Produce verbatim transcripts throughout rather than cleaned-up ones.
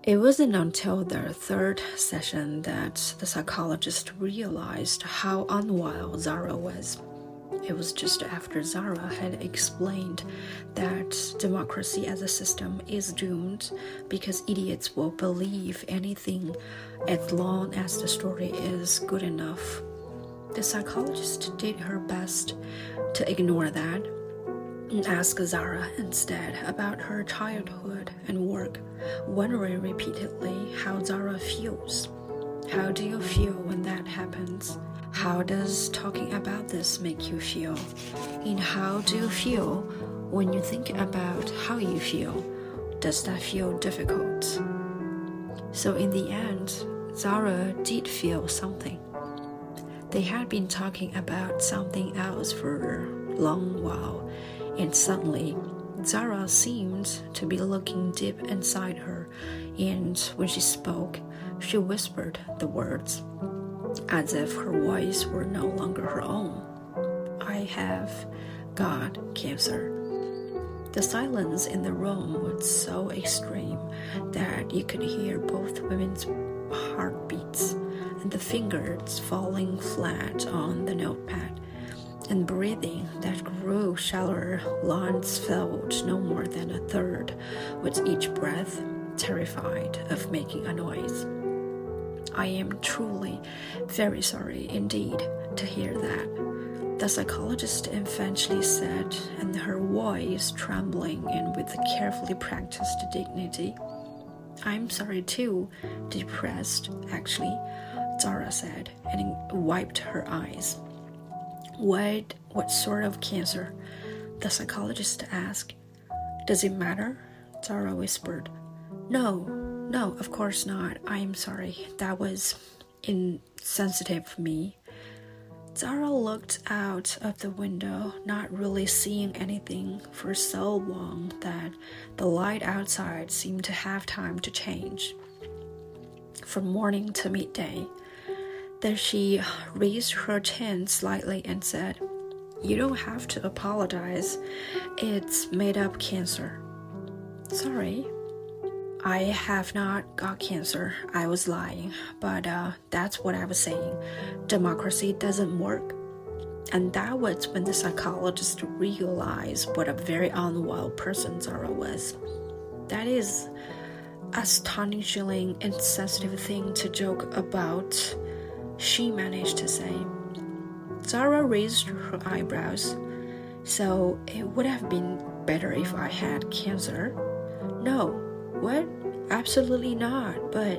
It wasn't until the third session that the psychologist realized how unwell Zara was. It was just after Zara had explained that democracy as a system is doomed because idiots will believe anything as long as the story is good enough. The psychologist did her best to ignore that and ask Zara instead about her childhood and work, wondering repeatedly how Zara feels. How do you feel when that happens? How does talking about this make you feel? And how do you feel when you think about how you feel? Does that feel difficult? So in the end, Zara did feel something. They had been talking about something else for a long while, and suddenly Zara seemed to be looking deep inside her, and when she spoke, she whispered the words, as if her voice were no longer her own. I have got cancer. The silence in the room was so extreme that you could hear both women's heartbeats and the fingers falling flat on the notepad, and breathing that grew shallower. Lungs filled no more than a third with each breath, terrified of making a noise. I am truly very sorry indeed to hear that, the psychologist eventually said, and her voice trembling and with a carefully practiced dignity. I'm sorry too, depressed, actually, Zara said, and wiped her eyes. What, what sort of cancer? The psychologist asked. Does it matter? Zara whispered. No, no, of course not. I'm sorry. That was insensitive of me. Zara looked out of the window, not really seeing anything for so long that the light outside seemed to have time to change. From morning to midday, then she raised her chin slightly and said, You don't have to apologize. It's made-up cancer. Sorry. I have not got cancer. I was lying, but uh, that's what I was saying. Democracy doesn't work. And that was when the psychologist realized what a very unwell person Zara was. That is an astonishingly insensitive thing to joke about, she managed to say. Zara raised her eyebrows. So it would have been better if I had cancer? No. What? Absolutely not, but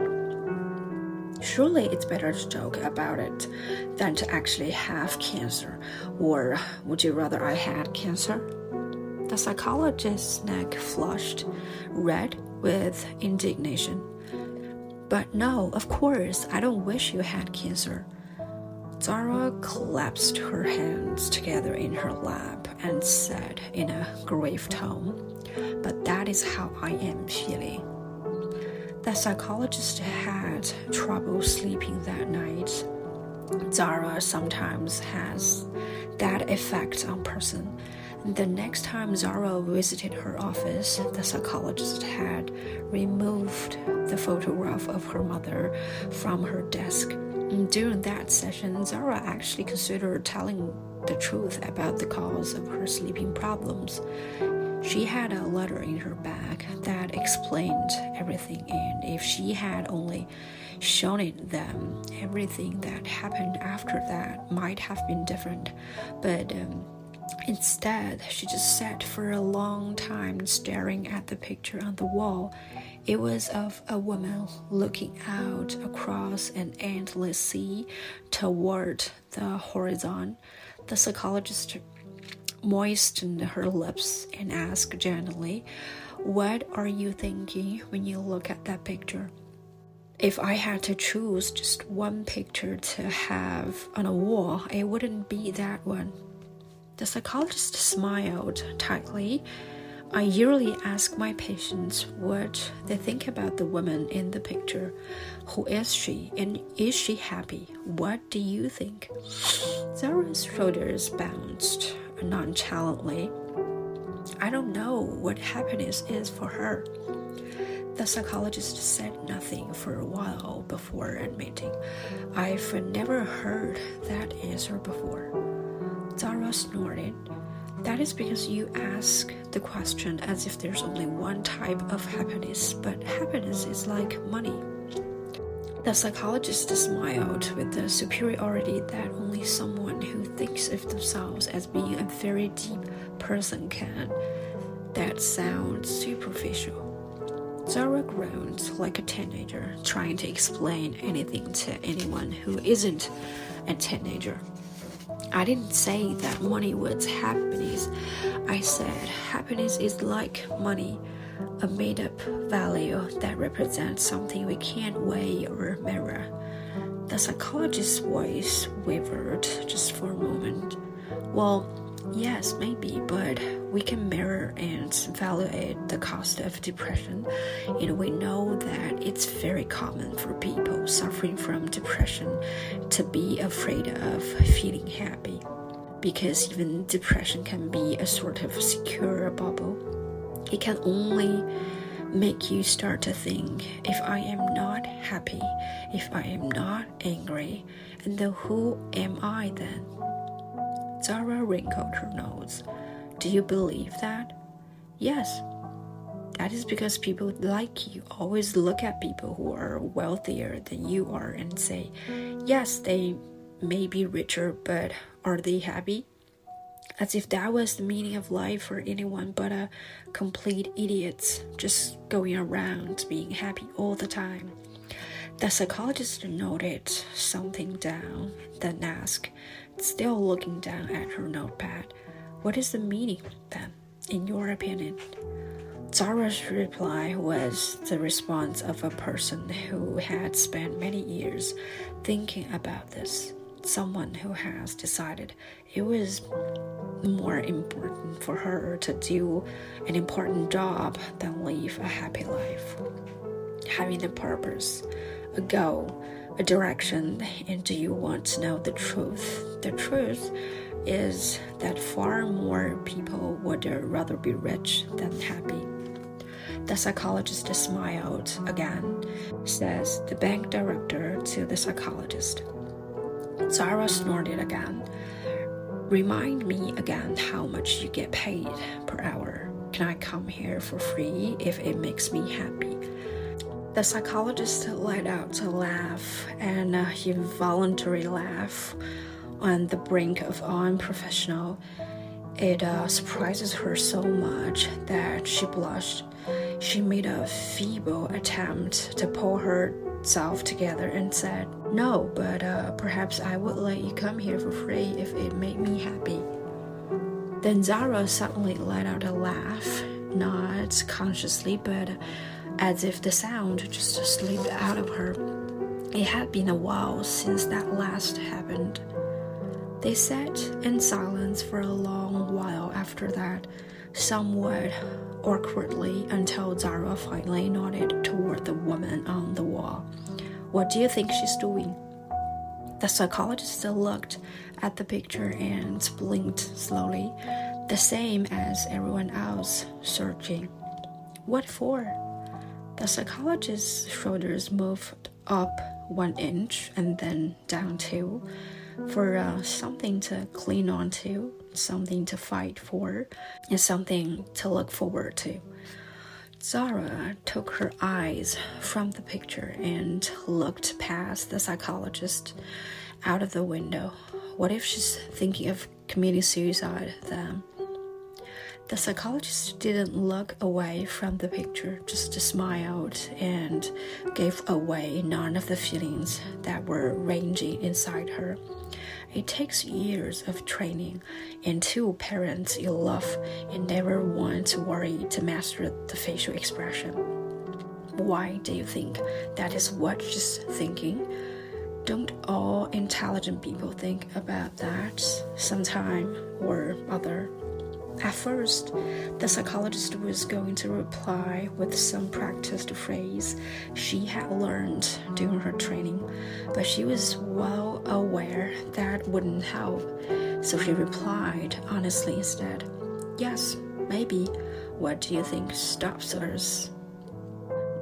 surely it's better to joke about it than to actually have cancer. Or would you rather I had cancer? The psychologist's neck flushed red with indignation. But no, of course, I don't wish you had cancer. Zara clasped her hands together in her lap and said in a grave tone, But that is how I am feeling. The psychologist had trouble sleeping that night. Zara sometimes has that effect on person. The next time Zara visited her office, the psychologist had removed the photograph of her mother from her desk. During that session, Zara actually considered telling the truth about the cause of her sleeping problems. She had a letter in her bag that explained everything, and if she had only shown it them, everything that happened after that might have been different. But um, instead, she just sat for a long time staring at the picture on the wall. It was of a woman looking out across an endless sea toward the horizon. The psychologist moistened her lips and asked gently, What are you thinking when you look at that picture? If I had to choose just one picture to have on a wall, it wouldn't be that one. The psychologist smiled tightly. I usually ask my patients what they think about the woman in the picture. Who is she, and is she happy? What do you think? Zara's shoulders bounced nonchalantly. I don't know what happiness is for her. The psychologist said nothing for a while before admitting, "I've never heard that answer before." Zara snorted. "That is because you ask the question as if there's only one type of happiness, but happiness is like money." The psychologist smiled with the superiority that only someone who thinks of themselves as being a very deep person can. "That sounds superficial." Zara groaned like a teenager trying to explain anything to anyone who isn't a teenager. "I didn't say that money was happiness. I said happiness is like money, a made-up value that represents something we can't weigh or measure." The psychologist's voice wavered just for a moment. "Well, yes, maybe, but we can measure and evaluate the cost of depression, and we know that it's very common for people suffering from depression to be afraid of feeling happy, because even depression can be a sort of secure bubble. It can only make you start to think, if I am not happy, if I am not angry, and then who am I then?" Zara wrinkled her nose. "Do you believe that?" "Yes. That is because people like you always look at people who are wealthier than you are and say, yes, they may be richer, but are they happy? As if that was the meaning of life for anyone but a complete idiot just going around being happy all the time." The psychologist noted something down, then asked, still looking down at her notepad, "What is the meaning, then, in your opinion?" Zara's reply was the response of a person who had spent many years thinking about this, someone who has decided it was more important for her to do an important job than live a happy life. Having a purpose, a goal, a direction, and do you want to know the truth? The truth is that far more people would rather be rich than happy. The psychologist smiled again, says the bank director to the psychologist. Zara snorted again. "Remind me again how much you get paid per hour. Can I come here for free if it makes me happy?" The psychologist let out a laugh, and a involuntary laugh on the brink of unprofessional. It uh, surprises her so much that she blushed. She made a feeble attempt to pull herself together and said, "No, but uh, perhaps I would let you come here for free if it made me happy." Then Zara suddenly let out a laugh, not consciously, but as if the sound just slipped out of her. It had been a while since that last happened. They sat in silence for a long while after that, somewhat awkwardly, until Zara finally nodded toward the woman on the wall. "What do you think she's doing?" The psychologist looked at the picture and blinked slowly, the same as everyone else, searching. "What for?" The psychologist's shoulders moved up one inch and then down two, for uh, something to cling on to, something to fight for, and something to look forward to. Zara took her eyes from the picture and looked past the psychologist out of the window. What if she's thinking of committing suicide then? The psychologist didn't look away from the picture, just smiled and gave away none of the feelings that were raging inside her. It takes years of training and two parents you love and never want to worry to master the facial expression. Why do you think that is what she's thinking? Don't all intelligent people think about that sometime or other? At first, the psychologist was going to reply with some practiced phrase she had learned during her training, but she was well aware that wouldn't help, so she replied honestly instead, "Yes, maybe. What do you think stops us?"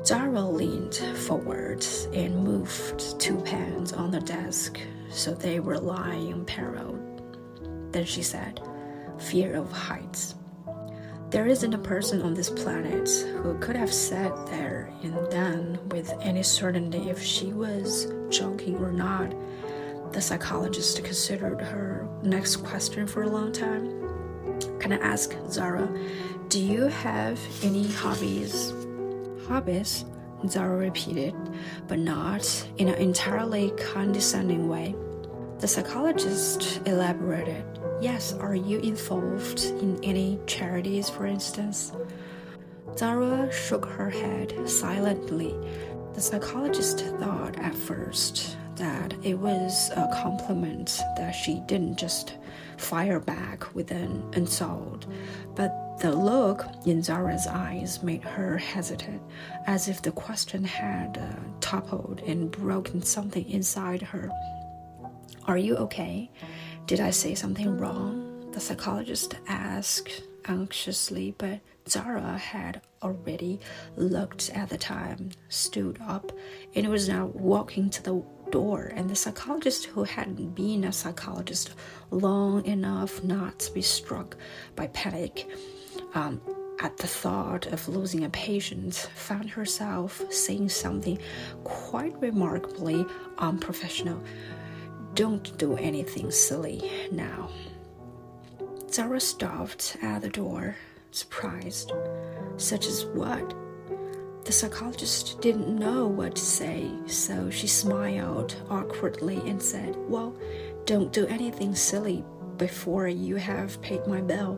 Zara leaned forward and moved two pens on the desk so they were lying parallel. Then she said, "Fear of heights. There isn't a person on this planet who could have sat there and then with any certainty if she was joking or not." The psychologist considered her next question for a long time. "Can I ask, Zara, do you have any hobbies?" "Hobbies?" Zara repeated, but not in an entirely condescending way. The psychologist elaborated. "Yes, are you involved in any charities, for instance?" Zara shook her head silently. The psychologist thought at first that it was a compliment that she didn't just fire back with an insult, but the look in Zara's eyes made her hesitate, as if the question had uh, toppled and broken something inside her. "Are you okay? Did I say something wrong?" the psychologist asked anxiously, but Zara had already looked at the time, stood up, and was now walking to the door, and the psychologist, who hadn't been a psychologist long enough not to be struck by panic um, at the thought of losing a patient, found herself saying something quite remarkably unprofessional. "Don't do anything silly now." Zara stopped at the door, surprised. "Such as what?" The psychologist didn't know what to say, so she smiled awkwardly and said, "Well, don't do anything silly before you have paid my bill."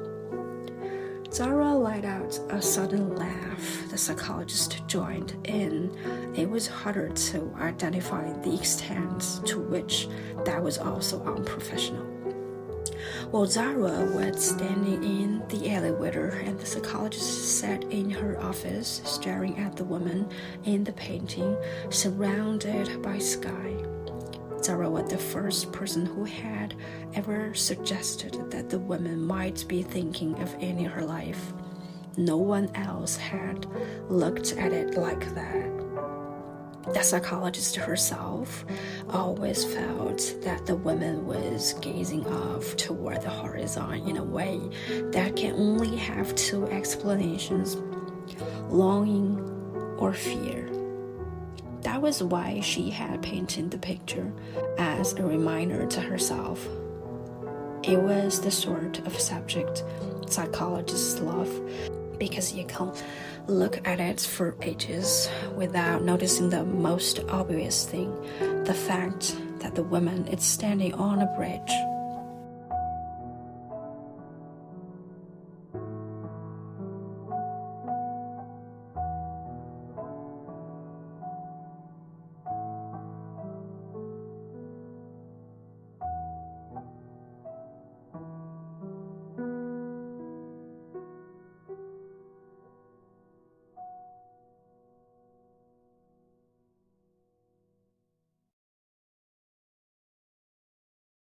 Zara let out a sudden laugh. The psychologist joined in. It was harder to identify the extent to which that was also unprofessional. While Zara was standing in the elevator and the psychologist sat in her office staring at the woman in the painting, surrounded by sky. Zara was the first person who had ever suggested that the woman might be thinking of ending her life. No one else had looked at it like that. The psychologist herself always felt that the woman was gazing off toward the horizon in a way that can only have two explanations: longing or fear. That was why she had painted the picture as a reminder to herself. It was the sort of subject psychologists love, because you can look at it for ages without noticing the most obvious thing, the fact that the woman is standing on a bridge.